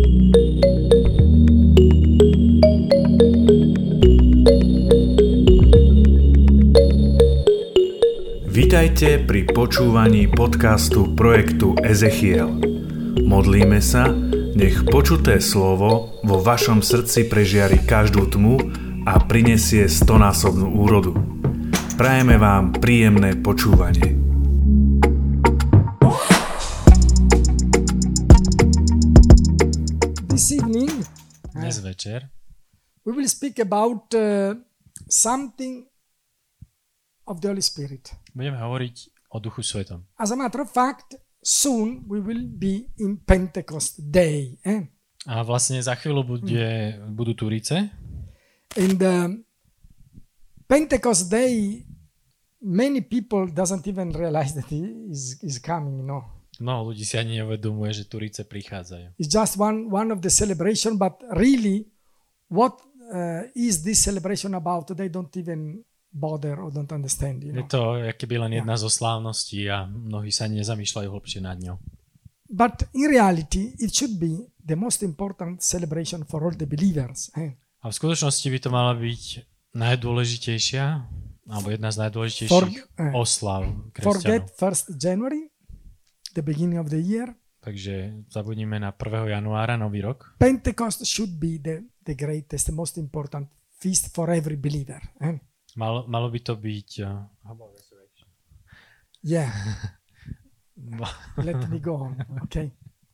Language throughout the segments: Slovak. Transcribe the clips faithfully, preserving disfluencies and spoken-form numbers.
Vítajte pri počúvaní podcastu projektu Ezechiel. Modlíme sa, nech počuté slovo vo vašom srdci prežiari každú tmu a prinesie stonásobnú úrodu. Prajeme vám príjemné počúvanie. This evening, Dnes večer we will speak about uh, something of the Holy Spirit. budeme hovoriť o Duchu Svetom. As a matter of fact, soon we will be in Pentecost Day. Eh? A vlastne za chvíľu bude, budú Turice. In the Pentecost Day, many people doesn't even realize that he is, is coming, no. Mnoho ľudí si ani neuvedomuje, že Turice prichádzajú. It's just one, one of the celebration, but really, what uh, is this celebration about? They don't even bother or don't understand, you know. Je to akoby len jedna zo slávností a mnohí sa nezamýšľajú hlbšie nad ňou. But in reality, it should be the most important celebration for all the believers. Eh? A v skutočnosti by to mala byť najdôležitejšia, alebo jedna z For, najdôležitejších eh, oslav forget kresťanov. first January, the beginning of the year. Takže zabudnime na prvého januára, nový rok. Pentecost should be the, the greatest, the most important feast for every believer. Eh? Malo, malo by to byť... Uh, how about resurrection? Yeah, let me go on. Okay.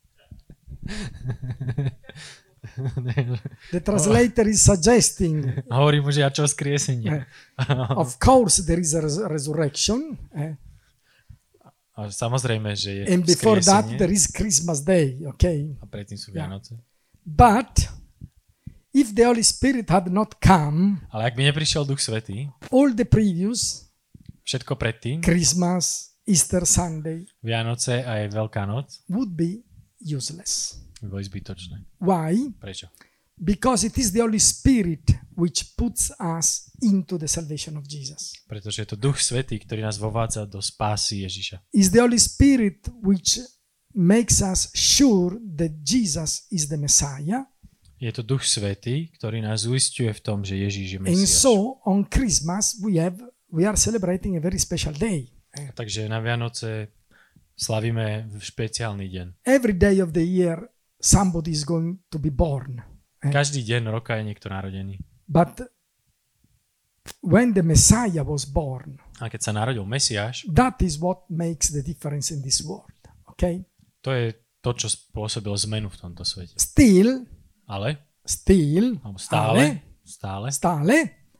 The translator is suggesting, Hovorí mu, že ja čo skriesenie. of course, there is a res- resurrection. Eh? A samozrejme, že je And before that, skriesenie. there is Christmas Day. Okay. A predtým sú Yeah. Vianoce. But if the Holy Spirit had not come, Ale ak by neprišiel Duch Svätý, all the previous všetko predtým, Christmas, Easter Sunday Vianoce a aj Veľká noc, would be useless. by boli zbytočné. Why? Prečo? Because it is the Holy Spirit which puts us into the salvation of Jesus. Pretože je to Duch Svätý, ktorý nás vovádza do spásy Ježiša. It's the Holy Spirit which makes us sure that Jesus is the Messiah. Je to Duch Svätý, ktorý nás uisťuje v tom, že Ježiš je And Mesiáš. so on Christmas we have we are celebrating a very special day. Takže na Vianoce slavíme v špeciálny deň. Every day of the year somebody is going to be born. Každý deň roka je niekto narodený. But when the Messiah was born, A keď sa narodil Mesiáš, that is what makes the difference in this world. Okay? to je to, čo spôsobilo zmenu v tomto svete. Still, Ale, still, alebo stále, stále, stále,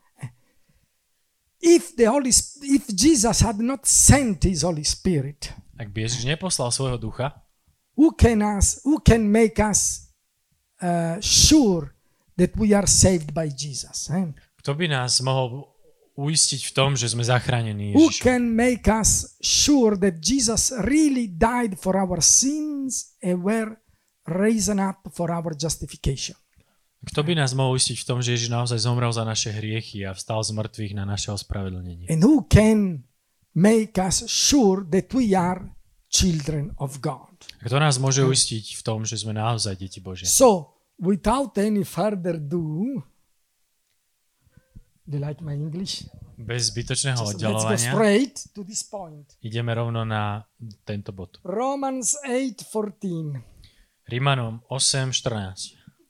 if the Holy, Sp- if Jesus had not sent his Holy Spirit, ak by Ježiš neposlal svojho ducha, who can us, who can make us uh, sure that we are saved by Jesus? Eh? kto by nás mohol uistiť v tom, že sme zachránení Who Ježišom? can make us sure that Jesus really died for our sins and were risen up for our justification? Kto by nás mohol uistiť v tom, že Ježiš naozaj zomrel za naše hriechy a vstal z mŕtvych na naše ospravedlnenie? And who can make us sure that we are children of God? Kto nás môže uistiť v tom, že sme naozaj deti Božie? So, without any further ado, do you like my English? Bez zbytočného So let's go oddalovania straight to this point. ideme rovno na tento bod. Romans eight fourteen. Rímanom osem štrnásť.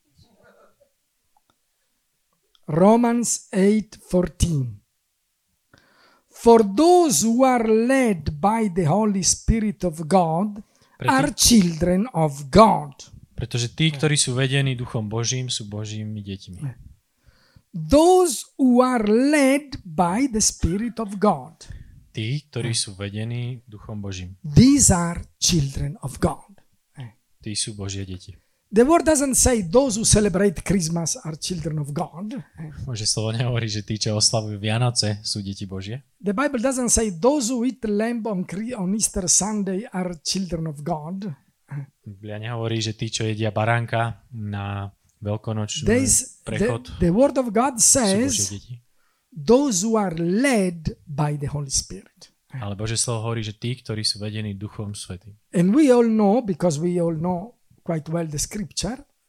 Romans eight fourteen. For those who are led by the Holy Spirit of God Pre are tých, children of God. pretože tí, ktorí sú vedení Duchom Božím, sú Božími deťmi. Those who are led by the Spirit of God. Tí, ktorí sú vedení Duchom Božím. These are children of God. Tí sú Božie deti. The word doesn't say those who celebrate Christmas are children of God. Bože slovo nehovorí, že tí, čo oslavujú Vianoce, sú deti Božie. The Bible doesn't say those who eat lamb on, on Easter Sunday are children of God. Biblia nehovorí, že tí, čo jedia baránka na veľkonočný There's, the, prechod, the word of God sú Božie says deti. those who are led by the Holy Spirit. Ale Bože slovo hovorí, že tí, ktorí sú vedení Duchom Svätým. And we all know, because we all know quite well the scripture,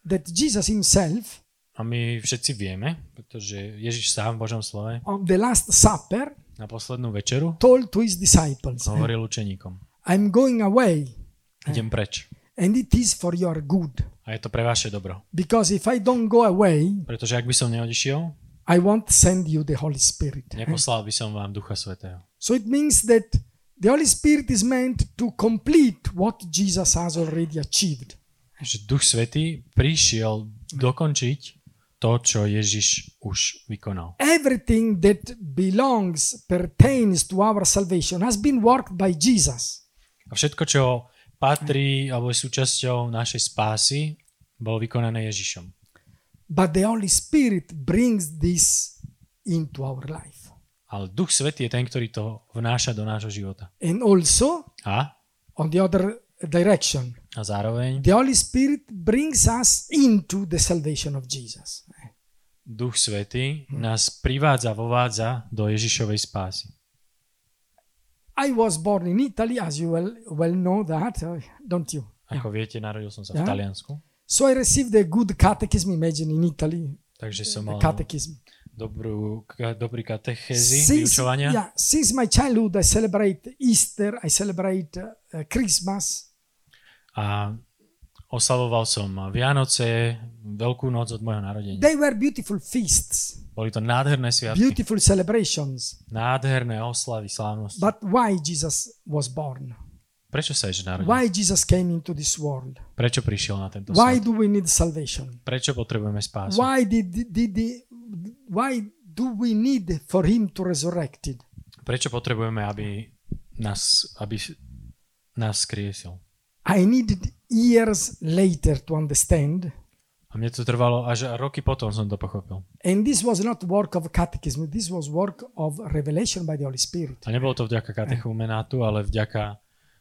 that Jesus himself, A my všetci vieme, pretože Ježiš sám v Božom slove on the Last Supper, na poslednú večeru told to his disciples, hovoril učeníkom. I'm going away, Idem preč. and it is for your good. A je to pre vaše dobro. Because if I don't go away, Pretože ak by som neodišiel, I won't send you the Holy Spirit. neposlal by som vám Ducha Svätého. So it means that the Holy Spirit is meant to complete what Jesus has already achieved. Že Duch Svätý prišiel dokončiť to, čo Ježiš už vykonal. Everything that belongs, pertains to our salvation has been worked by Jesus. A všetko, čo patrí alebo je súčasťou našej spásy, bolo vykonané Ježišom. But the Holy Spirit brings this into our life. Ale Duch Svätý je ten, ktorý to vnáša do nášho života. And also, A, on the other direction, a zároveň the Holy Spirit brings us into the salvation of Jesus. Duch Svätý nás privádza, vovádza do Ježišovej spásy. I was born in Italy, as you well, well know that, uh, don't you? Ako viete, narodil som sa v Yeah. Taliansku, So I received a good catechism, imagine, in Italy. takže som A mal catechism. dobrú, ka- dobrý katechézy, Since, vyučovania. yeah, since my childhood, I celebrate Easter, I celebrate uh, Christmas. A oslavoval som Vianoce, Veľkú noc od môjho narodenia. They were beautiful feasts, Boli to nádherné sviatky, beautiful celebrations. nádherné oslavy, slávnosti. But why Jesus was born? Prečo sa Ježiš narodil? Why Jesus came into this world? Prečo prišiel na tento Why svet? do we need salvation? Prečo potrebujeme spásu? Why did, did, did, why do we need for him to resurrect it? Prečo potrebujeme, aby nás, aby nás skriesil? I needed years later to understand. A mne to trvalo až roky potom som to pochopil. And this was not work of catechism. This was work of revelation by the Holy Spirit. A nebolo to vďaka katechumenátu, ale vďaka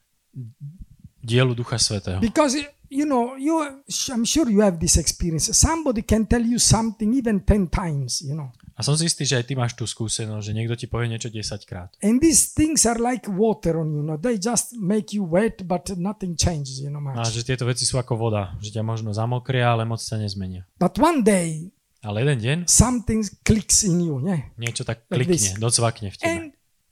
dielu Ducha Svätého. Because, you know, you, I'm sure you have this experience. Somebody can tell you something even ten times, you know. A som si istý, že aj ty máš tú skúsenosť, že niekto ti povie niečo desaťkrát. And these things are like water on you, no? They just make you wet, but nothing changes, you know, A much. že tieto veci sú ako voda, že ťa možno zamokria, ale moc sa nezmenia. But one day, Ale jeden deň something clicks in you, yeah? niečo tak Like klikne, this. docvakne v tebe. And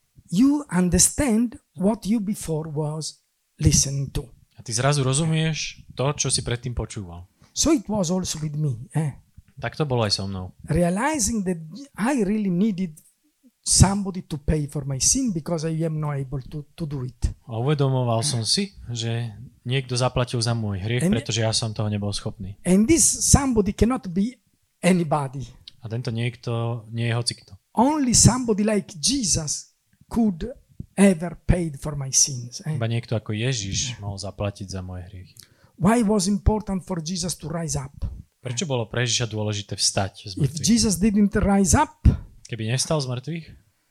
you understand what you before was listening to. A ty zrazu rozumieš to, čo si predtým počúval. So it was also with me, eh? Tak to bolo aj so mnou. Realizing that I really needed somebody to pay for my sin because I am not able to, to do it. A uvedomoval som si, že niekto zaplatil za môj hriech, And- pretože ja som toho nebol schopný. And this somebody cannot be anybody. A tento niekto nie je hocikto. Only somebody like Jesus could ever paid for my sins. eh? Iba niekto ako Ježiš mohol zaplatiť za moje hriechy. Why was important for Jesus to rise up? Prečo bolo pre Ježiša dôležité vstať z If mŕtvych? Jesus didn't rise up, Keby nevstal z mŕtvych,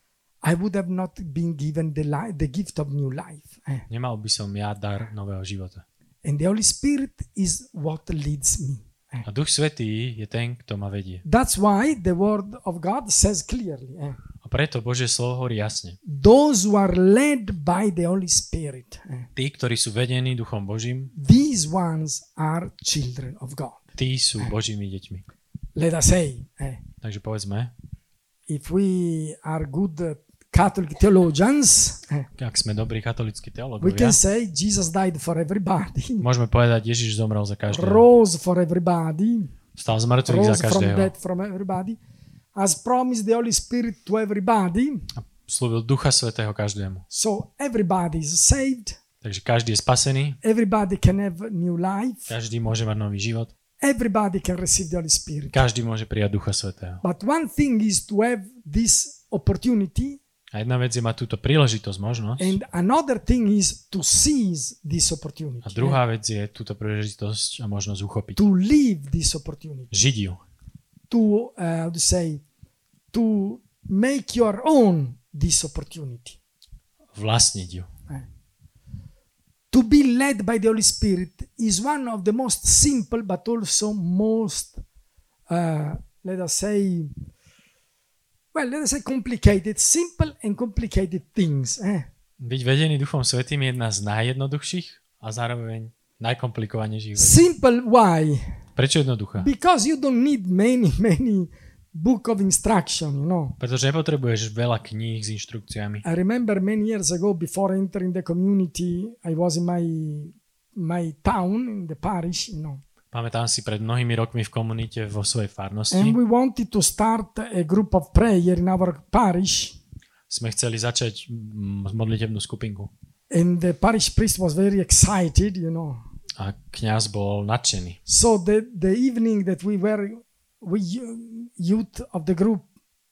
I would have not been given the, li- the gift of new life. eh? nemal by som ja dar nového života. And the Holy Spirit is what leads me. eh? A Duch Svätý je ten, kto ma vedie. That's why the Word of God says clearly, eh? A preto Božie slovo hovorí jasne. those who are led by the Holy Spirit, eh? Tí, ktorí sú vedení Duchom Božím, these ones are children of God. tí sú Božími deťmi. Let us say, eh? Takže povedzme, if we are good uh, Catholic theologians, eh, ak sme dobrí katolícki we teológovia, can say Jesus died for everybody, môžeme povedať, Ježiš zomrel za každého. rose for everybody, Stal z mŕtvych za rose from každého. death from everybody, has promised the Holy Spirit to everybody, A slúbil Ducha Svätého každému. so everybody is saved, Takže každý je spasený, everybody can have new life, každý môže mať nový život, everybody can receive the Holy Spirit. každý môže prijať Ducha Svätého. But one thing is to have this opportunity, A jedna vec je mať túto príležitosť, možnosť, and another thing is to seize this opportunity. a druhá vec je túto príležitosť a možnosť uchopiť. To live this opportunity. Žiť ju. To, uh, how to say, to make your own this opportunity. Vlastniť ju. To be led by the Holy Spirit is one of the most simple but also most, uh, let us say, well, let us say complicated, simple and complicated things. Eh? Byť vedený Duchom Svätým je jedna z najjednoduchších a zároveň najkomplikovanejších vecí. Simple, why? Prečo jednoduchá? Because you don't need many, many book of instruction, you know. Pretože nepotrebuješ veľa kníh s inštrukciami. I remember many years ago, before entering the community, I was in my my town, in the parish, you know. Pamätám si pred mnohými rokmi v komunite vo svojej farnosti. And we wanted to start a group of prayer in our parish. Sme chceli začať mm, modlitebnú skupinku. And the parish priest was very excited, you know. A kňaz bol nadšený. So the the evening that we were we youth of the group,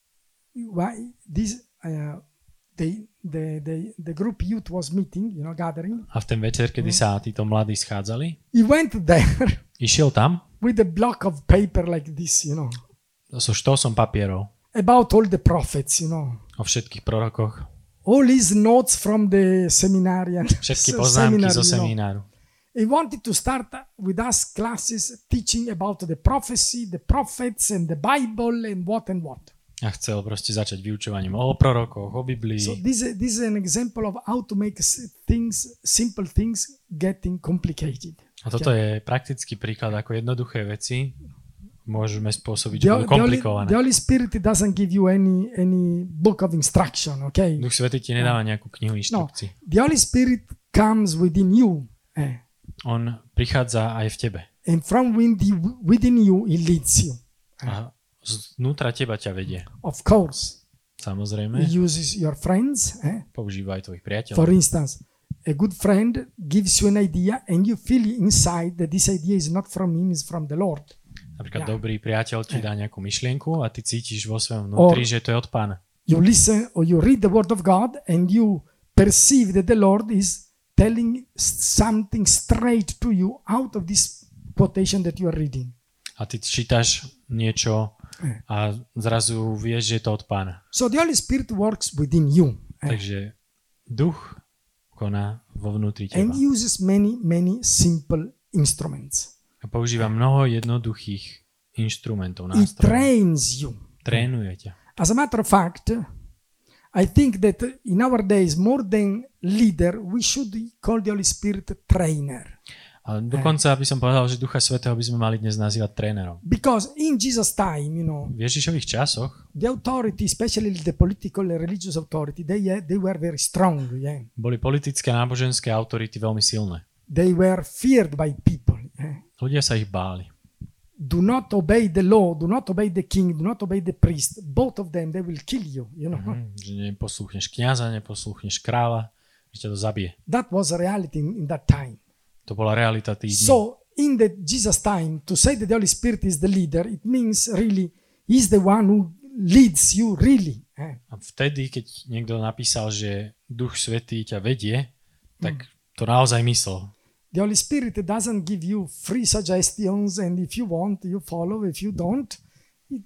why this uh, the the the the group youth was meeting, you know, gathering. A v ten večer, kedy sa títo mladí schádzali, He went there išiel tam with a block of paper like this, you know, so štosom papierov about all the prophets, you know. o všetkých prorokoch, All his notes from the seminarian. všetky se- poznámky seminar, zo you know. semináru. He wanted to start with us classes teaching about the prophecy, the prophets and the Bible and what and what. A chcel proste začať vyučovaním o prorokoch, o Biblii. So this is, this is an example of how to make s- things, simple things, getting complicated. A toto je praktický príklad, ako jednoduché veci môžeme spôsobiť, že The, budú the, Holy, komplikované. the Holy Spirit doesn't give you any any book of instruction, okay? Duch Svätý ti nedáva nejakú knihu No, inštrukcií. the Holy Spirit comes within you, eh, On prichádza aj v tebe. and from within within you, He leads you. A znútra teba ťa vedie. Of course, Samozrejme, He uses your friends. Eh? používa aj tvojich priateľov. For instance, a good friend gives you an idea, and you feel inside that this idea is not from Him, it's from the Lord. Napríklad Ja. dobrý priateľ ti dá nejakú myšlienku a ty cítiš vo svojom vnútri, Or- že to je od Pána. You listen or you read the Word of God, and you perceive that the Lord is telling something straight to you out of this quotation that you are reading. A ty čítaš niečo a zrazu vieš, že je to od Pána. So the Holy Spirit works within you, eh, Takže duch koná vo vnútri and teba. He uses many, many simple instruments. A používa mnoho jednoduchých inštrumentov, He nástrojov. trains you. Trénuje ťa. As a matter of fact, I think that in our days, more than leader, we should call the Holy Spirit trainer. Ale dokonca by som povedal, že Ducha Svätého by sme mali dnes nazývať trénerom. Because in Jesus' time, you know, V Ježišových časoch the authority, especially the political and religious authority, they, uh, they were very strong. Yeah? boli politické a náboženské autority veľmi silné. They were feared by people. Yeah? Ľudia sa ich báli. Do not obey the law, do not obey the king, do not obey the priest. Both of them, they will kill you, you know. Hm, že neposlúchneš kňaza, neposlúchneš kráľa, že ťa to zabije. That was a reality in, in that time. To bola realita tých dní. So in the Jesus time, to say that the Holy Spirit is the leader, it means really He's the one who leads you really. Eh? A vtedy, keď niekto napísal, že Duch Svätý ťa vedie, tak to naozaj myslel. The Holy Spirit doesn't give you free suggestions, and if you want, you follow. If you don't, it,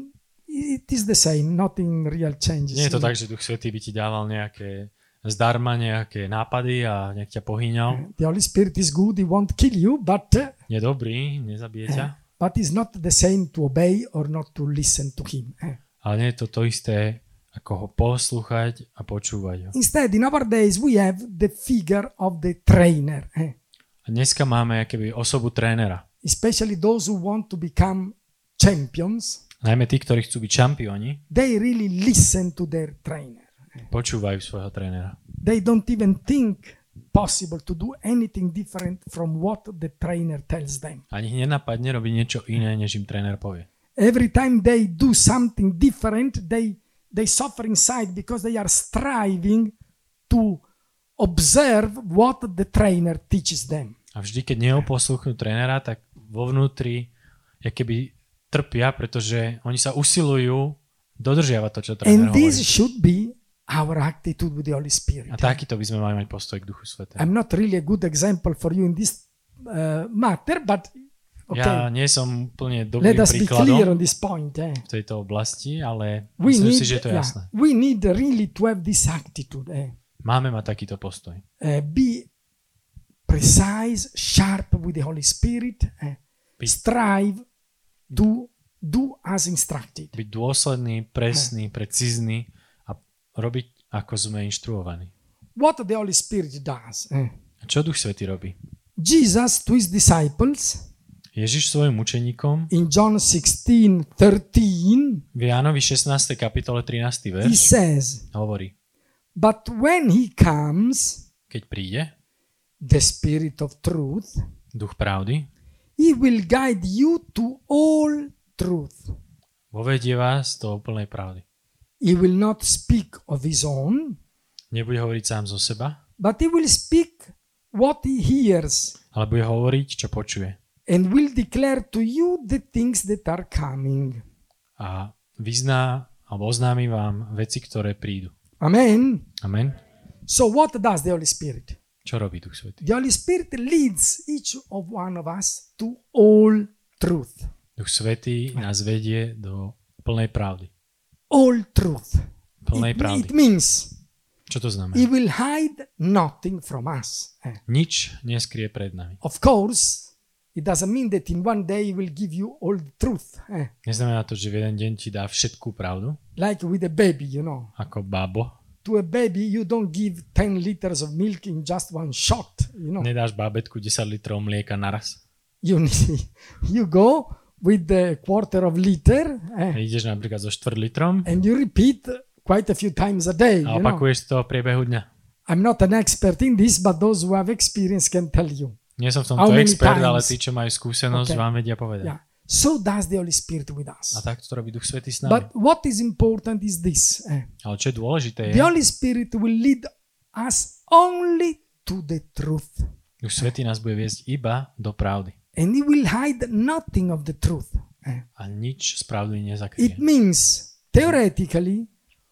it is the same. Nothing real changes. Nie je to tak, že Duch Svätý by ti dával nejaké zdarma, nejaké nápady a nejak ťa pohýňal. The Holy Spirit is good. He won't kill you, but uh, Je dobrý, nezabije ťa, but it's not the same to obey or not to listen to Him. Eh? ale nie je to to isté, ako ho poslúchať a počúvať ho. Instead, in our days, we have the figure of the trainer. Eh? A dneska máme akéby osobu trénera. Especially those who want to become champions. Najmä tí, ktorí chcú byť šampióni, They really listen to their trainer. počúvajú svojho trénera. They don't even think possible to do anything different from what the trainer tells them. Ani ich nenapadne robiť niečo iné, než im tréner povie. Every time they do something different, they they suffer inside because they are striving to observe what the trainer teaches them. A vždy, keď neoposlúchnú trénera, tak vo vnútri je keby trpia, pretože oni sa usilujú dodržiavať to, čo tréner And this hovorí. should be our attitude with the Holy Spirit. A takýto by sme mali mať postoj k Duchu Svätému. I'm not really a good example for you in this uh, matter, but okay. Ja nie som úplne Let dobrým us be clear príkladom on this point. Eh? v tejto oblasti, ale We myslím need, si, že to je yeah, jasné. we need really to have this attitude. Eh? Máme mať takýto postoj. Uh, be precise, sharp with the Holy Spirit. Eh? Be- Strive to do as instructed. Byť dôsledný, presný, precízny a robiť, ako sme inštruovaní. What the Holy Spirit does. Eh? A čo Duch Svätý robí? Jesus to his disciples Ježiš svojim učeníkom in John sixteen thirteen, v Jánovi šestnástej kapitole trinásty he verš says, hovorí, but when he comes, keď príde the Spirit of truth, duch pravdy, he will guide you to all truth. vovedie vás do úplnej pravdy. He will not speak of his own, Nebude hovoriť sám zo seba, but he will speak what he hears ale bude hovoriť, čo počuje. and will declare to you the things that are coming. A vyzná alebo oznámi vám veci, ktoré prídu. Amen. Amen. So what does the Holy Spirit? Čo robí Duch Svätý? The Holy Spirit leads each of one of us to all truth. Duch Svätý nás vedie do plnej pravdy. All truth. Plnej It, pravdy. it means Čo to znamená? he will hide nothing from us. Eh. Nič neskrie pred nami. Of course, it doesn't mean that in one day he will give you all the truth. Eh. Neznamená to, že v jeden deň ti dá všetkú pravdu, Like with a baby, you know. ako bábo. To a baby, you don't give ten liters of milk in just one shot, you know. Nedáš bábetku desať litrov mlieka naraz. You need, you go with the quarter of liter eh, Ideš napríklad so štvrt litrom and you repeat quite a few times a day, a you know. opakuješ to v priebehu dňa. I'm not an expert in this, but those who have experience can tell you. Nie som v How tomto many expert, times? ale tí, čo majú skúsenosť, Okay. vám vedia povedať. Yeah. So does the Holy Spirit with us. A takto to robí Duch Svätý s nami. But what is important is this. eh, Ale čo je dôležité je, The Holy Spirit will lead us only to the truth. Duch Svätý nás bude viesť iba do pravdy. And he will hide nothing of the truth. eh. A nič z pravdy It nezakryje. means, theoretically,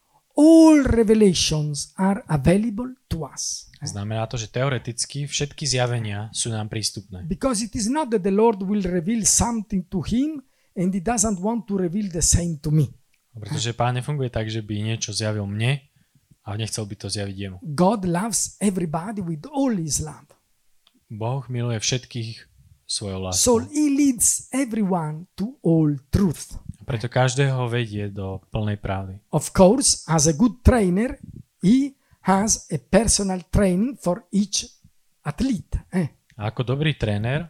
all revelations are available to us. Znamená to, že teoreticky všetky zjavenia sú nám prístupné. Because it is not that the Lord will reveal something to him and he doesn't want to reveal the same to me. Pretože Pán nefunguje tak, že by niečo zjavil mne a nechcel by to zjaviť jemu. God loves everybody with all his love. Boh miluje všetkých svojou So láskou. he leads everyone to all truth. Preto každého vedie do plnej pravdy. Of course, as a good trainer, he has a personal training for each athlete. Eh? A ako dobrý tréner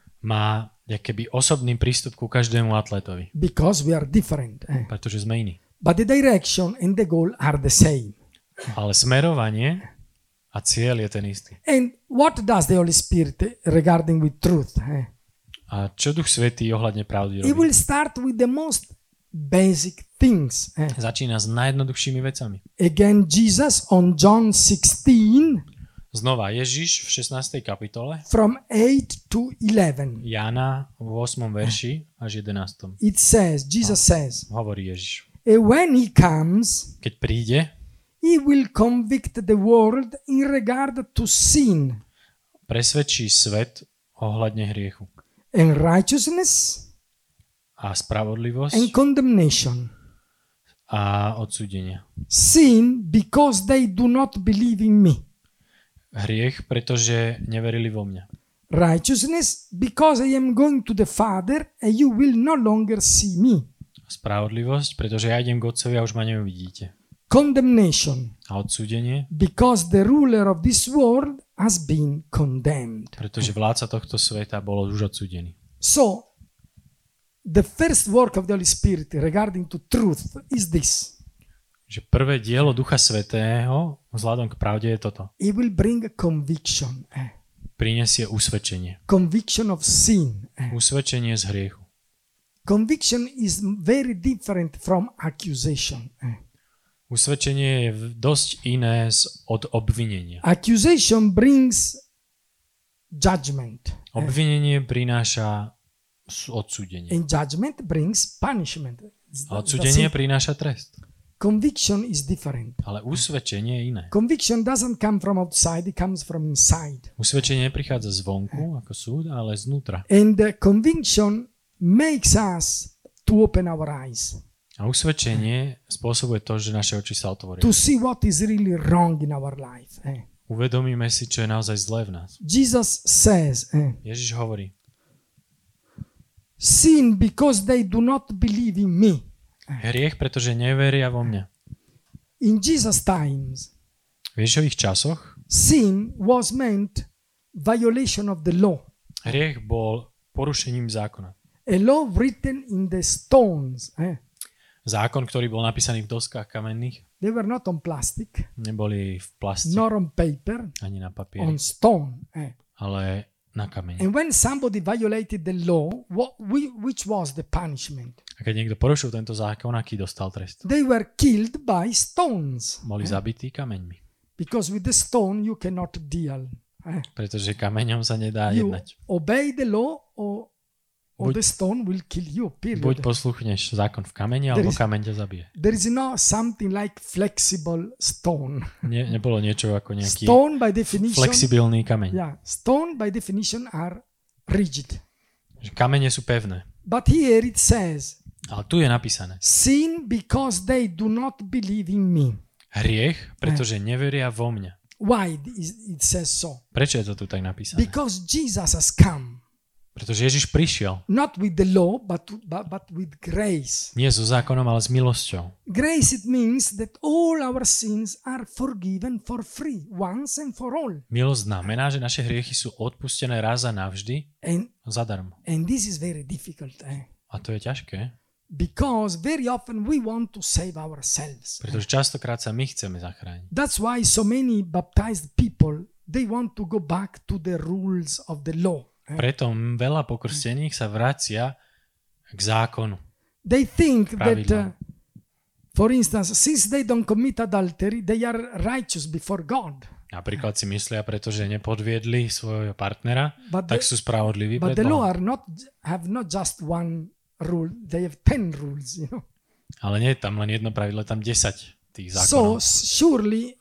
má keby osobný prístup ku každému atletovi. Because we are different. Eh? Pretože sme iní. But the direction and the goal are the same. Ale smerovanie a cieľ je ten istý. And what does the Holy Spirit regarding with truth? Eh? A čo Duch Svätý ohľadne pravdy He robí? will start with the most basic things. Eh? Začína s najjednoduchšími vecami. Again, Jesus on John sixteen Znova Ježiš v šestnástej kapitole, from eight to eleven. Jána v ôsmom verši až jedenástom. It says, Jesus says, Hovorí Ježiš. "And when he comes, Keď príde, he will convict the world in regard to sin presvedčí svet ohľadne hriechu and righteousness a spravodlivosť and condemnation. a odsúdenia. Sin because they do not believe in me. Hriech, pretože neverili vo mňa. Righteousness because I am going to the Father and you will no longer see me. Spravodlivosť, pretože ja idem k Otcovi a už ma neuvidíte. Condemnation A odsúdenie, because the ruler of this world has been condemned. pretože vládca tohto sveta bol už odsúdený. So, the first work of the Holy Spirit regarding to truth is this. Že prvé dielo Ducha Svätého vzhľadom k pravde je toto. It will bring a conviction. Eh? Prinesie usvedčenie. Conviction of sin. Eh? Usvedčenie z hriechu. Conviction is very different from accusation. Eh? Usvedčenie je v- dosť iné z- od obvinenia. Accusation brings judgment. Obvinenie prináša s- odsúdenie. And judgment brings punishment. A That's odsúdenie it. prináša trest. Conviction is different. Ale usvedčenie je iné. Conviction doesn't come from outside, it comes from inside. Usvedčenie neprichádza zvonku ako súd, ale znútra. And the conviction makes us to open our eyes, A usvedčenie spôsobuje to, že naše oči sa otvoria. to see what is really wrong in our life. Eh? Uvedomíme si, čo je naozaj zlé v nás. Jesus says, eh, Ježiš hovorí, sin because they do not believe in me. hriech, pretože neveria vo mňa. In Jesus' times, V Ježišových časoch sin was meant violation of the law. hriech bol porušením zákona. A law written in the stones. Eh? Zákon, ktorý bol napísaný v doskách kamenných, They were not on plastic, neboli v plaste nor on paper, ani na papieri, on stone. Eh? ale na kameni. And when somebody violated the law, what, which was the punishment? A keď niekto porušil tento zákon, aký dostal trest? They were killed by stones. Boli zabití kameňmi. Because with the stone you cannot deal. Eh? Pretože kameňom sa nedá You jednať. obey the law or, or Buď- the stone will kill you, period. Buď posluchneš zákon v kameni, There alebo is- kameň ťa zabije. There is no something like flexible stone. Nie, nebolo niečo ako nejaký Stone by definition, flexibilný kameň. yeah, stone by definition are rigid. Že kamene sú pevné. But here it says, Ale tu je napísané. sin because they do not believe in me. Hriech, pretože neveria vo mňa. Why is- it says so? Prečo je to tu tak napísané? Because Jesus has come, Pretože Ježiš prišiel not with the law, but, to, but, but with grace. nie so zákonom, ale s milosťou. Grace, it means that all our sins are forgiven for free, once and for all. Milosť znamená, že naše hriechy sú odpustené raz a navždy And, zadarmo. and this is very difficult, eh? A to je ťažké, Because very often we want to save ourselves. pretože častokrát sa my chceme zachrániť. That's why so many baptized people, they want to go back to the rules of the law. eh? Preto veľa pokrstených sa vracia k zákonu. They think that, Pravidlám. uh, for instance, since they don't commit adultery, they are righteous before God. Napríklad si myslia, pretože nepodviedli svojho partnera, But tak the- sú spravodliví But pred the law Bohom. are not have not just one rule; they have ten rules. You know. Ale nie je tam len jedno pravidlo, je tam desať tých So zákonov. surely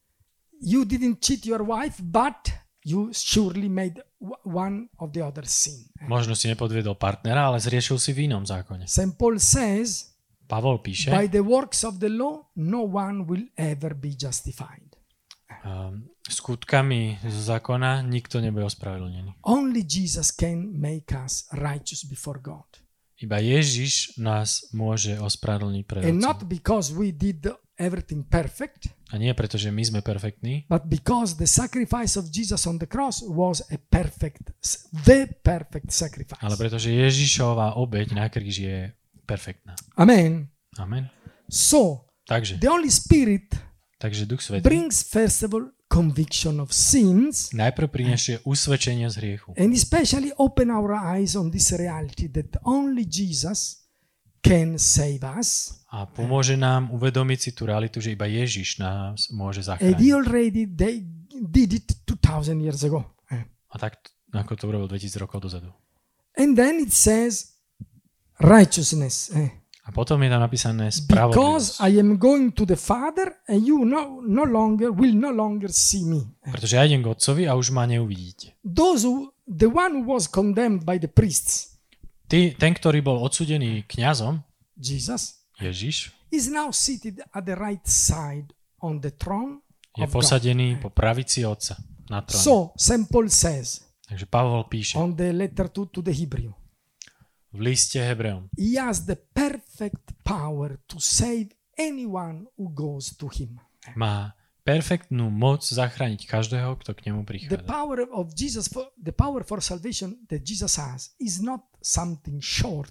you didn't cheat your wife, but you surely made w- one of the other sin. Možno si nepodviedol partnera, ale zriešil si v inom zákone. Saint Paul says, Pavol píše, by the works of the law, no one will ever be justified. um, skutkami z zákona nikto nebude ospravedlnený. Only Jesus can make us righteous before God. Iba Ježiš nás môže ospravedlniť pred And Otcom. not because we did everything perfect, A nie preto, že my sme perfektní, but because the sacrifice of Jesus on the cross was a perfect, the perfect sacrifice. ale pretože Ježišová obeť na kríži je perfektná. Amen. Amen. So, Takže, the Holy Spirit takže Duch Svätý brings first of all conviction of sins najprv prinesie usvedčenie z hriechu. and especially open our eyes on this reality that only Jesus can save us. A pomôže nám uvedomiť si tú realitu, že iba Ježiš nás môže And zachrániť. he already they did it two thousand years ago. A tak, ako to urobil dvetisíc rokov dozadu. And then it says righteousness. eh. A potom je tam napísané Because spravodlivosť. I am going to the Father and you no, no longer will no longer see me. Pretože ja idem k Otcovi a už ma neuvidíte. Those who, the one who was condemned by the priests, Ty, ten, ktorý bol odsudený kňazom, Jesus, Ježiš, is now seated at the right side on the throne je of God. posadený po pravici Otca na tróne. So, Saint Paul says Takže Pavol píše on the letter to, to the Hebrew, v liste Hebreom, he has the perfect power to save anyone who goes to him. má perfektnú moc zachrániť každého, kto k nemu The prichádza. power of Jesus, for, the power for salvation that Jesus has is not something short,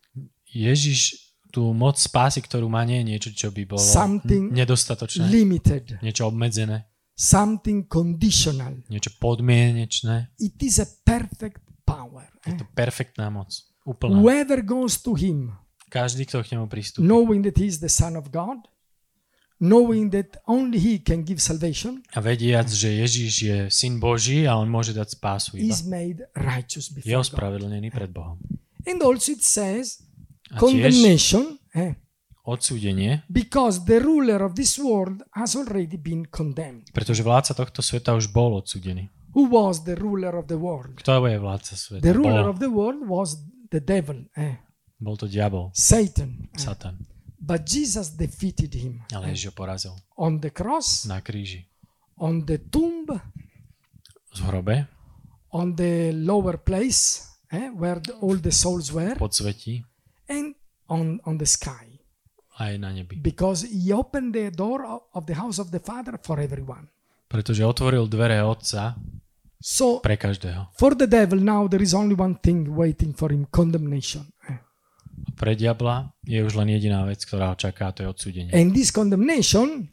Ježiš tú moc spásy, ktorú má, nie je niečo, čo by bolo Something nedostatočné, limited, niečo obmedzené, something conditional. niečo podmienečné. It is a perfect power. Je eh. to perfektná moc. Úplná. Whoever goes to him, Každý, kto k nemu pristúpi. knowing that he is the Son of God, knowing that only he can give salvation, A vediac, že Ježiš je syn Boží a on môže dať spásu iba. is made righteous Je before God. ospravedlnený pred Bohom. And also it says A tiež condemnation, eh, odsúdenie, because the ruler of this world has already been condemned. pretože vládca tohto sveta už bol odsúdený. Who was the ruler of the world? Kto je vládca sveta? The ruler Bol, of the world was the devil, eh, bol to diabol, Satan. eh. Satan. But Jesus defeated him Ale Ježiš ho porazil on the cross, na kríži. on the tomb, V hrobe, on the lower place eh, where the, all the souls were, pod svetí, and on, on the sky. aj na nebi. Because he opened the door of, of the house of the Father for everyone. Pretože otvoril dvere Otca So pre každého. for the devil now there is only one thing waiting for him, condemnation. Pre diabla je už len jediná vec, ktorá ho čaká, to je odsúdenie. And this condemnation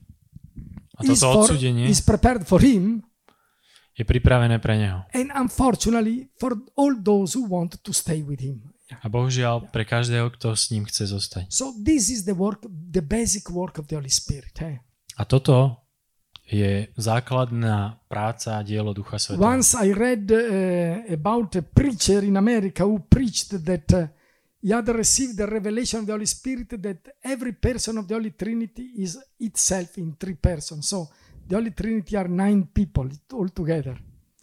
A is, toto for, odsúdenie is prepared for him, je pripravené pre neho. and unfortunately for all those who want to stay with him. A bohužiaľ pre každého, kto s ním chce zostať. So this is the work, the basic work of the Holy Spirit. Eh? A toto je základná práca a dielo Ducha Svätého. Once I read uh, about a preacher in America who preached that uh, he had received the revelation of the Holy Spirit that every person of the Holy Trinity is itself in three persons. So the Holy Trinity are nine people all together.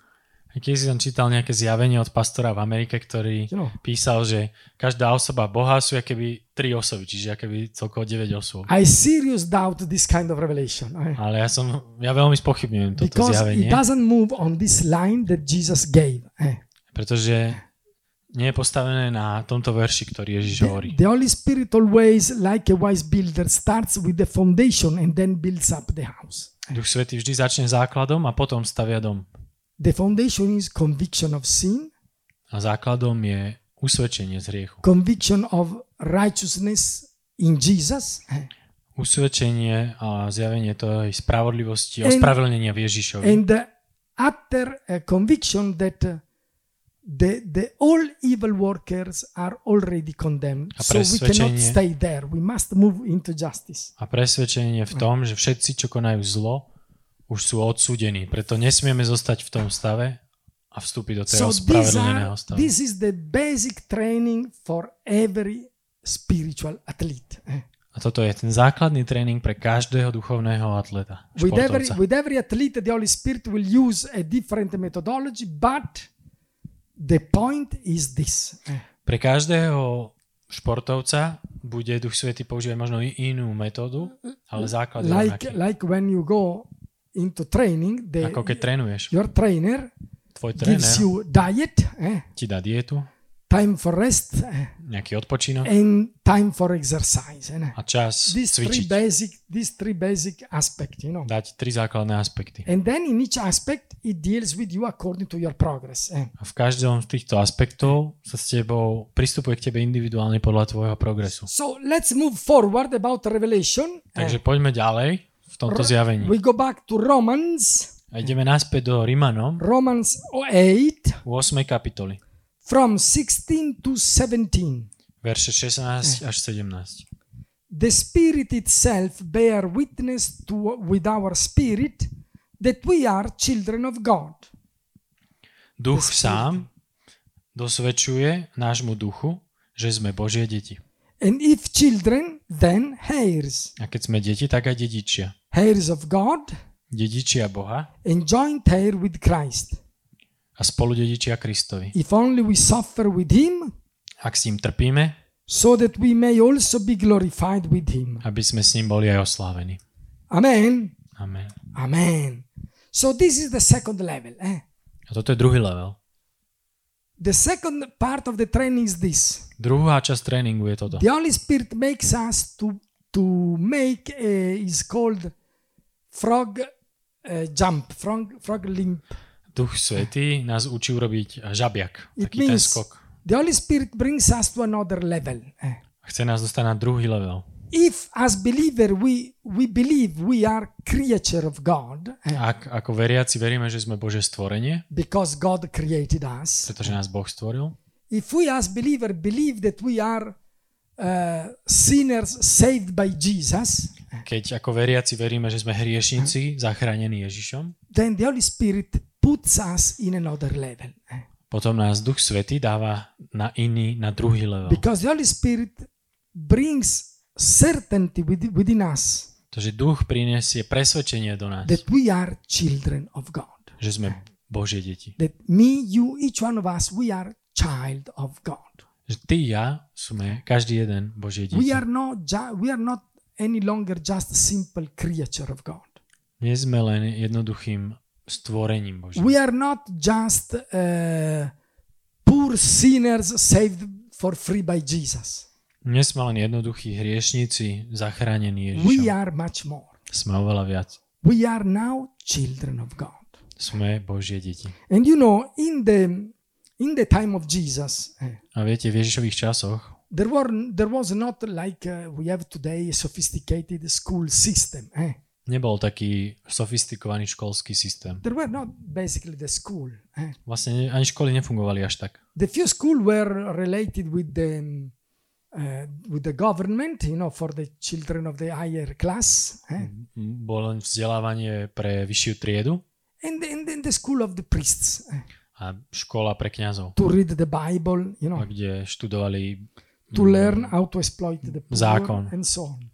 Keď si tam čítal nejaké zjavenie od pastora v Amerike, ktorý You know. písal, že každá osoba Boha sú akéby tri osoby, čiže akéby celkovo deväť osôb. I serious doubt this kind of revelation. eh? Ale ja som, ja veľmi spochybňujem toto Because zjavenie, it doesn't move on this line that Jesus gave. eh? pretože nie je postavené na tomto verši, ktorý Ježiš hovorí. The, the Holy Spirit always, like a wise builder, starts with the foundation and then builds up the house. Duch Svätý vždy začne základom a potom stavia dom. The foundation is conviction of sin, A základom je usvedčenie z hriechu. conviction of righteousness in Jesus, eh, Usvedčenie a zjavenie tej spravodlivosti a And- ospravedlnenia v Ježišovi. and the utter uh, conviction that uh, the the all evil workers are already condemned. A So we cannot presvedčenie- stay there. We must move into justice. A presvedčenie v tom, že všetci, čo konajú zlo, už sú odsúdení. Preto nesmieme zostať v tom stave a vstúpiť do So toho these spravedlneného are, stavu. this is the basic training for every spiritual athlete. eh. A toto je ten základný tréning pre každého duchovného atleta, With every, športovca. with every athlete, the Holy Spirit will use a different methodology, but the point is this. eh. Pre každého športovca bude Duch Svätý používať možno i- inú metódu, ale základ je Like, rovnaký. like when you go into training, the, Ako keď trénuješ. your trainer Tvoj tréner gives you diet, eh, ti dá dietu, time for rest, eh, nejaký odpočinok and time for exercise. eh. a čas These three cvičiť. basic, these three basic aspects, you know. Dať tri základné aspekty. And then in each aspect, it deals with you according to your progress. eh. A v každom z týchto aspektov sa s tebou pristupuje k tebe individuálne podľa tvojho progresu. So let's move forward about Revelation. Takže poďme ďalej v tomto zjavení. We go back to Romans, A ideme naspäť do Rimanom Romans eight, v ôsmej kapitoli. from sixteen to seventeen. Verše šestnásť až sedemnásť. The Spirit itself bear witness to, with our spirit that we are children of God. Duch sám dosvedčuje nášmu duchu, že sme Božie deti. And if children, then heirs. A keď sme deti, tak aj dedičia. Heirs of God Dedičia Boha and joint heir with Christ. a spoludedičia Kristovi. If only we suffer with Him, Ak s ním trpíme, so that we may also be glorified with Him. aby sme s ním boli aj oslávení. Amen. Amen. Amen. So this is the second level. Eh? A toto je druhý level. The second part of the training is this. Druhá časť tréningu je toto. The Holy Spirit makes us to to make a, is called frog uh, jump, frog frog limp. Duch Svätý nás učí urobiť žabiak, It taký ten means skok. the Holy Spirit brings us to another level. Eh? Chce nás dostať na druhý level. If as believer we we believe we are creature of God, eh, Ak ako veriaci veríme, že sme Božie stvorenie, because God created us. pretože nás Boh stvoril, If we as believer believe that we are uh, sinners saved by Jesus, keď ako veriaci veríme, že sme hriešnici, zachránení Ježišom, then the Holy Spirit puts us in another level. eh. potom nás Duch Svätý dáva na iný, na druhý level. Because the Holy Spirit brings certainty within, within us Pretože Duch prinesie presvedčenie do nás, that we are children of God. že sme Božie deti. That me, you, each one of us, we are child of God. Že ty, ja, sme každý jeden Božie deti. We are not, ju- we are not any longer just a simple creature of God. Nie sme len jednoduchým stvorením Božím. We are not just uh, poor sinners saved for free by Jesus. Nie sme len jednoduchí hriešníci, zachránení We Ježišom. are much more. Sme oveľa viac. We are now children of God. sme Božie deti. And you know, in the in the time of Jesus, eh, A viete, v Ježišových časoch there were there was not like uh, we have today a sophisticated school system. Eh. nebol taký sofistikovaný školský systém. There were not basically the school. Eh. Vlastne ani školy nefungovali až tak. The few schools were related with the uh, with the government, you know, for the children of the higher class. Eh. Bolo len vzdelávanie pre vyššiu triedu And then the, the school of the priests. Eh. a škola pre kňazov, To read the Bible, you know, kde študovali to learn how to exploit the poor Zákon. and so on.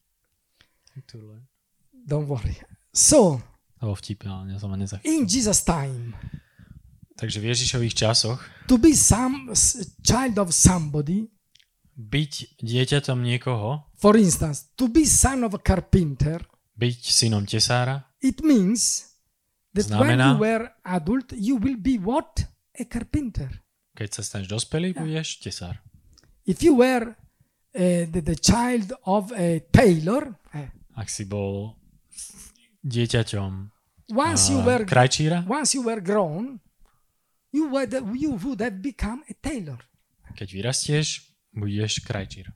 Don't worry. So, To bol vtip, ale ja som ma nezachytil. in Jesus' time, Takže v Ježišových časoch to be some s- child of somebody, byť dieťatom niekoho, for instance, to be son of a carpenter, byť synom tesára, it means that when Znamená- you were adult, you will be what? A carpenter. keď sa staneš dospelý, budeš tesár. If you were uh, the, the child of a tailor, eh, Ak si bol dieťaťom once you a, were krajčíra, once you were grown, you would you would have become a tailor. keď vyrastieš, budeš krajčír.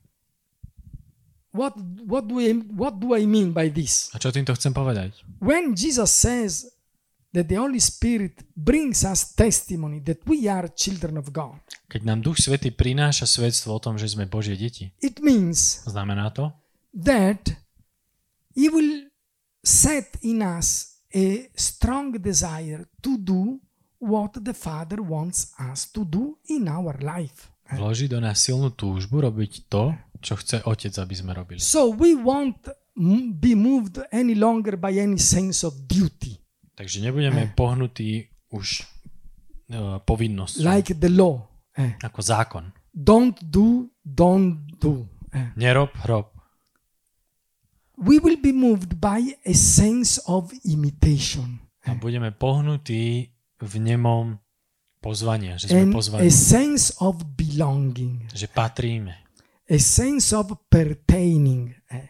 What what do I what do I mean by this? A čo týmto chcem povedať? When Jesus says that the Holy Spirit brings us testimony that we are children of God, Keď nám Duch Svätý prináša svedstvo o tom, že sme Božie deti, it means znamená to, that He will set in us a strong desire to do what the Father wants us to do in our life. vloží do nás silnú túžbu robiť to, čo chce Otec, aby sme robili. So we won't m- be moved any longer by any sense of duty, Takže nebudeme pohnutí už uh, povinnosťou, like the law. Eh. ako zákon. Don't do, don't do. Eh. Nerob, rob. We will be moved by a sense of imitation A budeme pohnutí v nemom pozvania, že sme and a pozvaní, sense of belonging, že patríme, a sense of pertaining. Eh.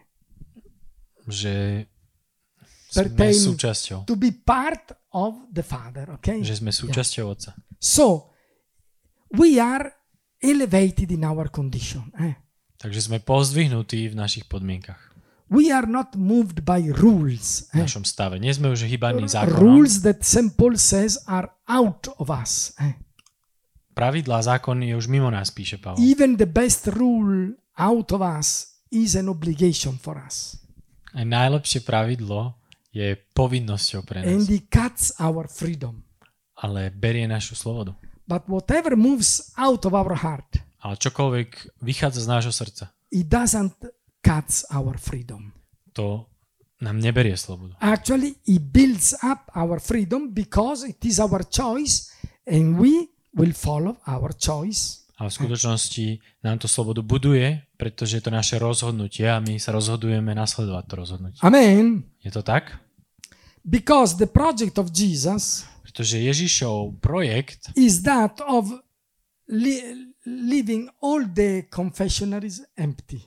že sme Pertaining. súčasťou, To be part of the Father, okay? že sme súčasťou Otca. So, we are elevated in our condition. Eh? Takže sme pozdvihnutí v našich podmienkach, We are not moved by rules. v Eh? našom stave. Nie sme už hýbaní zákonom. Rules that Saint Paul says are out of us. Eh? Pravidlá, zákony je už mimo nás, píše Pavol. Even the best rule out of us is an obligation for us. A najlepšie pravidlo je povinnosťou pre And nás, it cuts our freedom. ale berie našu slobodu. But whatever moves out of our heart, Ale čokoľvek vychádza z nášho srdca, it doesn't cut our freedom. to nám neberie slobodu. Actually, it builds up our freedom because it is our choice and we will follow our choice. Ale v skutočnosti nám to slobodu buduje, pretože je to naše rozhodnutie a my sa rozhodujeme nasledovať to rozhodnutie. Amen. Je to tak? Because the project of Jesus Pretože Ježišov projekt is that of li- leaving all the confessionaries empty.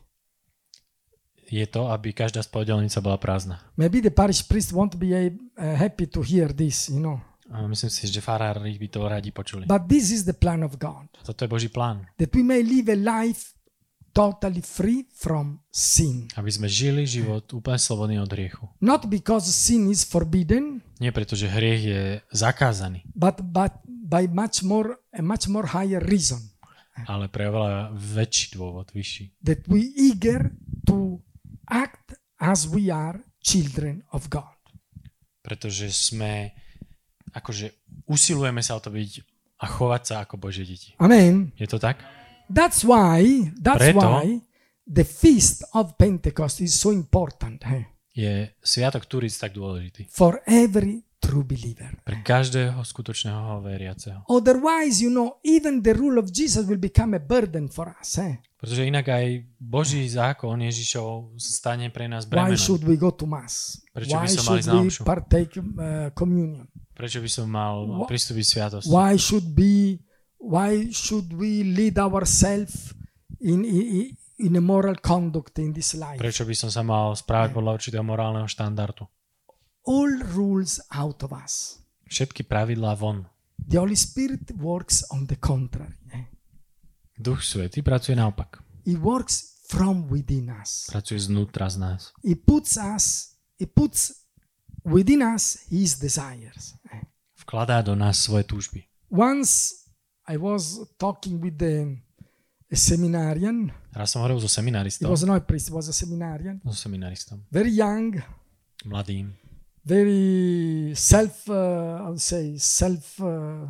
je to, aby každá spovedaľnica bola prázdna. Maybe the parish priest won't be uh, happy to hear this, you know. A myslím si, že farári by to radi počuli. But this is the plan of God. Toto je Boží plán. That we may live a life totally free from sin. Aby sme žili život úplne slobodný od hriechu. Not because sin is forbidden, Nie preto, že hriech je zakázaný, but but by much more a much more higher reason ale pre oveľa väčší dôvod, vyšší. that we eager to act as we are children of God. Pretože sme, akože usilujeme sa o to byť a chovať sa ako Božie deti. Amen. Je to tak? That's why that's Preto- why the feast of Pentecost is so important eh, Je Sviatok Turíc tak dôležitý. for every true believer. Pre každého skutočného veriaceho. Otherwise, you know, even the rule of Jesus will become a burden for us. Eh? Pretože inak aj Boží zákon Ježišov stane pre nás Why bremenom. should we go to mass? Prečo by Why som mali should na we omšu? partake uh, communion? Prečo by som mal Wha- pristúpiť sviatosť? Why should be? Why should we lead ourselves in, in in a moral conduct in this life? Prečo by som sa mal správať podľa určitého morálneho štandardu? All rules out of us. všetky pravidlá von. The Holy Spirit works on the contrary. Eh? Duch Svätý pracuje naopak. He works from within us. Pracuje znútra z nás. He puts us, he puts within us his desires. Eh? Vkladá do nás svoje túžby. Once I was talking with the, a seminarian. Raz som hovoril so He seminaristom. was not a priest, he was a seminarian. So seminaristom. Very young, Mladým. very self, uh, I would say, self uh,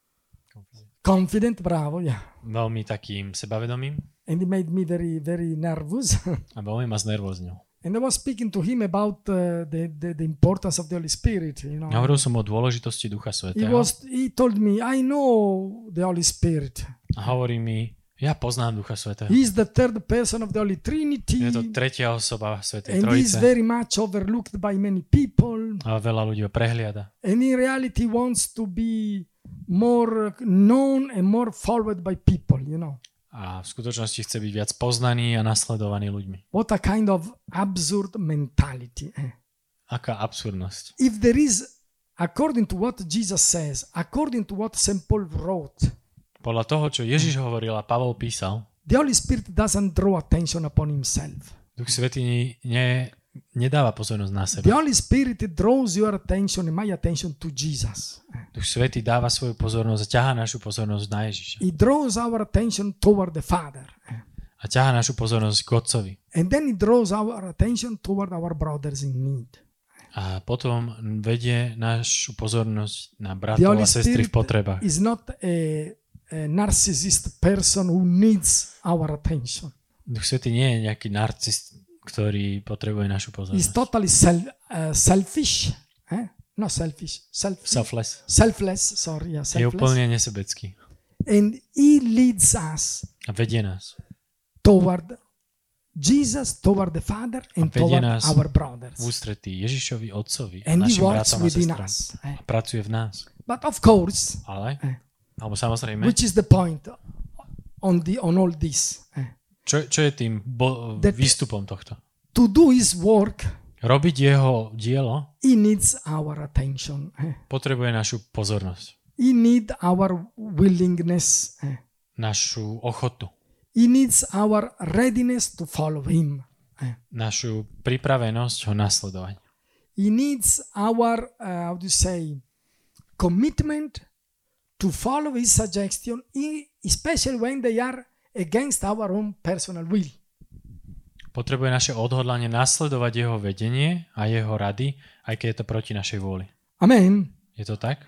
confident, bravo, yeah. Veľmi takým sebavedomým And he made me very, very nervous. a veľmi ma znervoznil. And I was speaking to him about uh, the, the, the importance of the Holy Spirit, you know. Hovoril som o dôležitosti Ducha He Svätého. was, he told me, I know the Holy Spirit. A hovorí mi, ja poznám Ducha Svätého. He's the third person of the Holy Trinity. Je to tretia osoba Svätej And he's Trojice. very much overlooked by many people. A veľa ľudí ho prehliada. And in reality wants to be more known and more followed by people, you know. A v skutočnosti chce byť viac poznaný a nasledovaný ľuďmi. What a kind of absurd mentality. Eh? Aká absurdnosť. If there is, according to what Jesus says, according to what Saint Paul wrote, Podľa toho, čo Ježiš hovoril a Pavol písal, the Holy Spirit doesn't draw attention upon himself. Duch Svätý ne, nedáva pozornosť na The seba. Holy Spirit draws your attention and my attention to Jesus. Duch Svätý dáva svoju pozornosť a ťahá našu pozornosť na Ježiša. He draws our attention toward the Father. A ťahá našu pozornosť k Otcovi. And then he draws our attention toward our brothers in need. A potom vedie našu pozornosť na The bratov Holy a sestry Spirit v potrebách. is not a, a narcissist person who needs our attention. Duch Svätý nie je nejaký narcist, ktorý potrebuje našu He's pozornosť. totally self, uh, selfish. Eh? Not selfish. Self, Selfless. selfless. Sorry, yeah, Je selfless. úplne nesebecký. And he leads us A vedie nás. toward Jesus, toward the Father, and vedie toward nás our brothers. V ústretí Ježišovi, Otcovi a And he našim works bratom a within sestram. us. Eh? A pracuje v nás. But of course, Ale, Eh. alebo samozrejme, which is the point on the on all this? Eh? čo, čo je tým bo- That- výstupom tohto? To do his work, Robiť jeho dielo he needs our attention. Eh? potrebuje našu pozornosť, He needs our willingness. Eh? našu ochotu, He needs our readiness to follow him. Eh? našu pripravenosť ho nasledovať. He needs our, uh, how do you say, commitment to follow his suggestion, e- especially when they are against our own personal will. Potrebuje naše odhodlanie nasledovať jeho vedenie a jeho rady, aj keď je to proti našej vôli. Amen. Je to tak?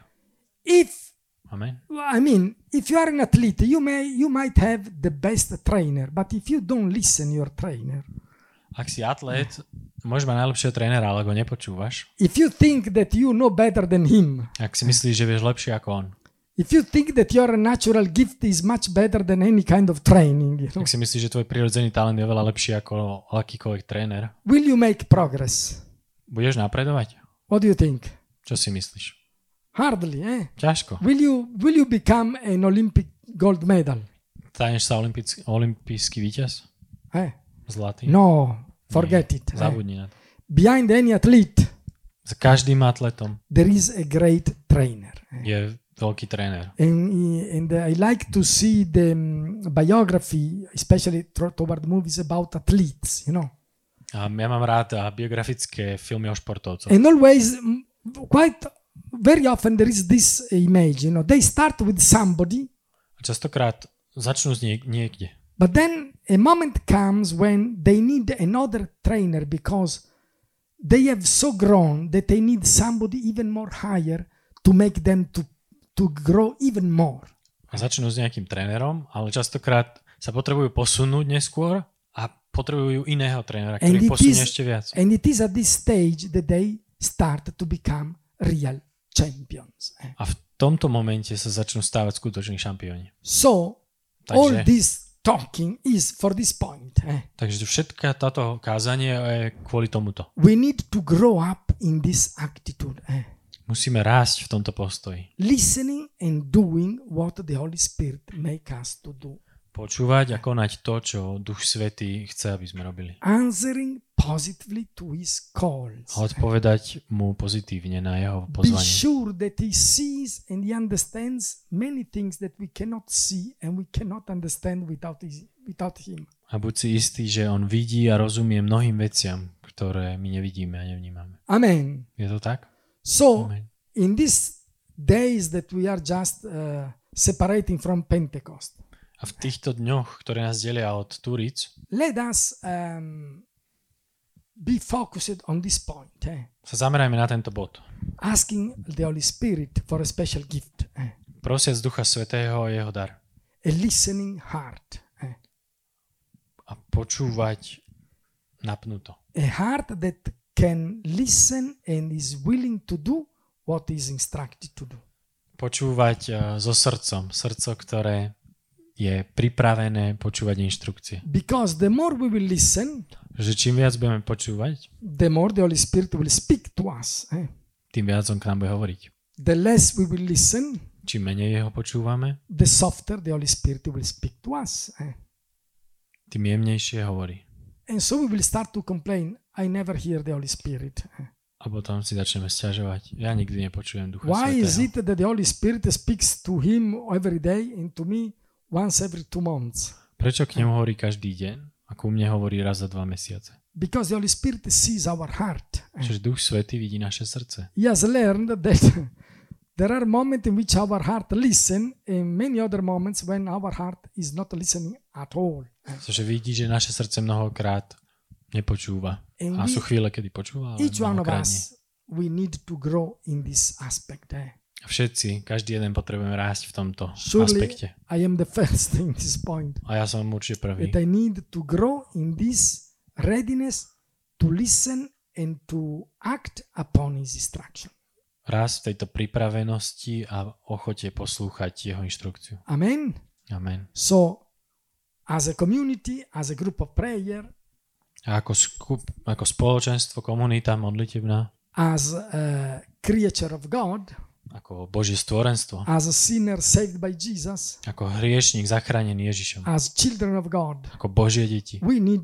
If, Amen. I mean, if you are an athlete, you may, you might have the best trainer, but if you don't listen your trainer, Ak si atlét, môžeš mať najlepšieho trénera, ale ho nepočúvaš. if you think that you know better than him, Ak si myslíš, že vieš lepšie ako on. if you think that your natural gift is much better than any kind of training, you know, Ak si myslíš, že tvoj prirodzený talent je veľa lepší ako akýkoľvek tréner. will you make progress? Budeš napredovať? What do you think? Čo si myslíš? Hardly, eh? Ťažko. Will you will you become an Olympic gold medal? Staneš sa olympijský, olympijský víťaz? Eh? Zlatý? No, forget Nie. it. eh? Zabudni na to. Behind any athlete, Za každým atletom there is a great trainer. eh? je veľký tréner. And, and I like to see the um, biography, especially tro- toward movies about athletes, you know. A ja mám rád a biografické filmy o športovcoch. And always, mm, quite very often, there is this image, you know. They start with somebody, A častokrát začnú z niek- niekde. but then a moment comes when they need another trainer because they have so grown that they need somebody even more higher to make them to, to grow even more. A začnú s nejakým trénerom, ale častokrát sa potrebujú posunúť neskôr a potrebujú iného trénera, And ktorý it, posunie is, ešte viac. and it is at this stage that they start to become real champions. eh. A v tomto momente sa začnú stávať skutoční šampióni. So, all Takže, this talking is for this point. eh. takže všetká táto kázanie je kvôli tomuto. We need to grow up in this attitude. eh. Musíme rásť v tomto postoji. Listening and doing what the Holy Spirit make us to do. Počúvať a konať to, čo Duch Svätý chce, aby sme robili. Answering positively to his calls. A odpovedať mu pozitívne na jeho Be pozvanie. sure that he sees and he understands many things that we cannot see and we cannot understand without his, without him. A buď si istý, že on vidí a rozumie mnohým veciam, ktoré my nevidíme a nevnímame. Amen. Je to tak? So, Amen. in these days that we are just uh, separating from Pentecost, A v týchto dňoch, ktoré nás delia od Turíc, let us um, be focused on this point, eh? sa zamerajme na tento bod. Asking the Holy Spirit for a special gift, eh? Prosiac Ducha Svätého a jeho dar. A listening heart, eh? A počúvať napnuto. A heart that can listen and is willing to do what is instructed to do. Počúvať uh, so srdcom. Srdco, ktoré je pripravené počúvať inštrukcie. Because the more we will listen, Že čím viac budeme počúvať, the more the Holy Spirit will speak to us. Eh? tým viac on k nám bude hovoriť. The less we will listen, Čím menej jeho počúvame, the softer the Holy Spirit will speak to us. Eh? tým jemnejšie hovorí. And so we will start to complain, I never hear the Holy Spirit. Eh? A potom si začneme sťažovať. Ja nikdy nepočujem Ducha Why is Svätého. it that the Holy Spirit speaks to him every day and to me once every two months? Prečo k nemu hovorí každý deň a ku mne hovorí raz za dva mesiace? Because the Holy Spirit sees our heart. Eh? Čiže Duch Svätý vidí naše srdce. He has learned that there are moments in which our heart listen and many other moments when our heart is not listening at all. Pretože vidí, že naše srdce mnohokrát nepočúva. And A we- sú chvíle, kedy počúva, ale Each one of mnohokrát nie. us, we need to grow in this aspect. Eh? A všetci, každý jeden potrebujeme rásť v tomto Surely aspekte. I am the first in this point. A ja som určite prvý. That I need to grow in this readiness to listen and to act upon his instruction. Rásť v tejto pripravenosti a ochote poslúchať jeho inštrukciu. Amen. Amen. So, as a community, as a group of prayer, A ako, skup, ako spoločenstvo, komunita modlitebná, as a creature of God, ako Božie stvorenstvo, as a sinner saved by Jesus, ako hriešník zachránený Ježišom, as children of God, ako Božie deti. we need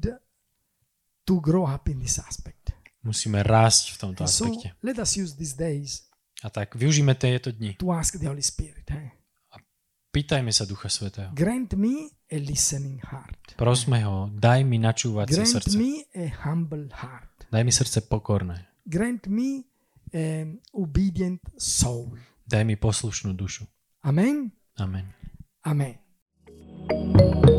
to grow up in this aspect. Musíme rásť v tomto And so aspekte. let us use these days A tak využíme tieto dni. to ask the Holy Spirit, eh? Pýtajme sa Ducha Svätého. Grant me a listening heart. Prosme ho, daj mi načúvacie Grant srdce. me a humble heart. Daj mi srdce pokorné. Grant me an obedient soul. Daj mi poslušnú dušu. Amen. Amen. Amen.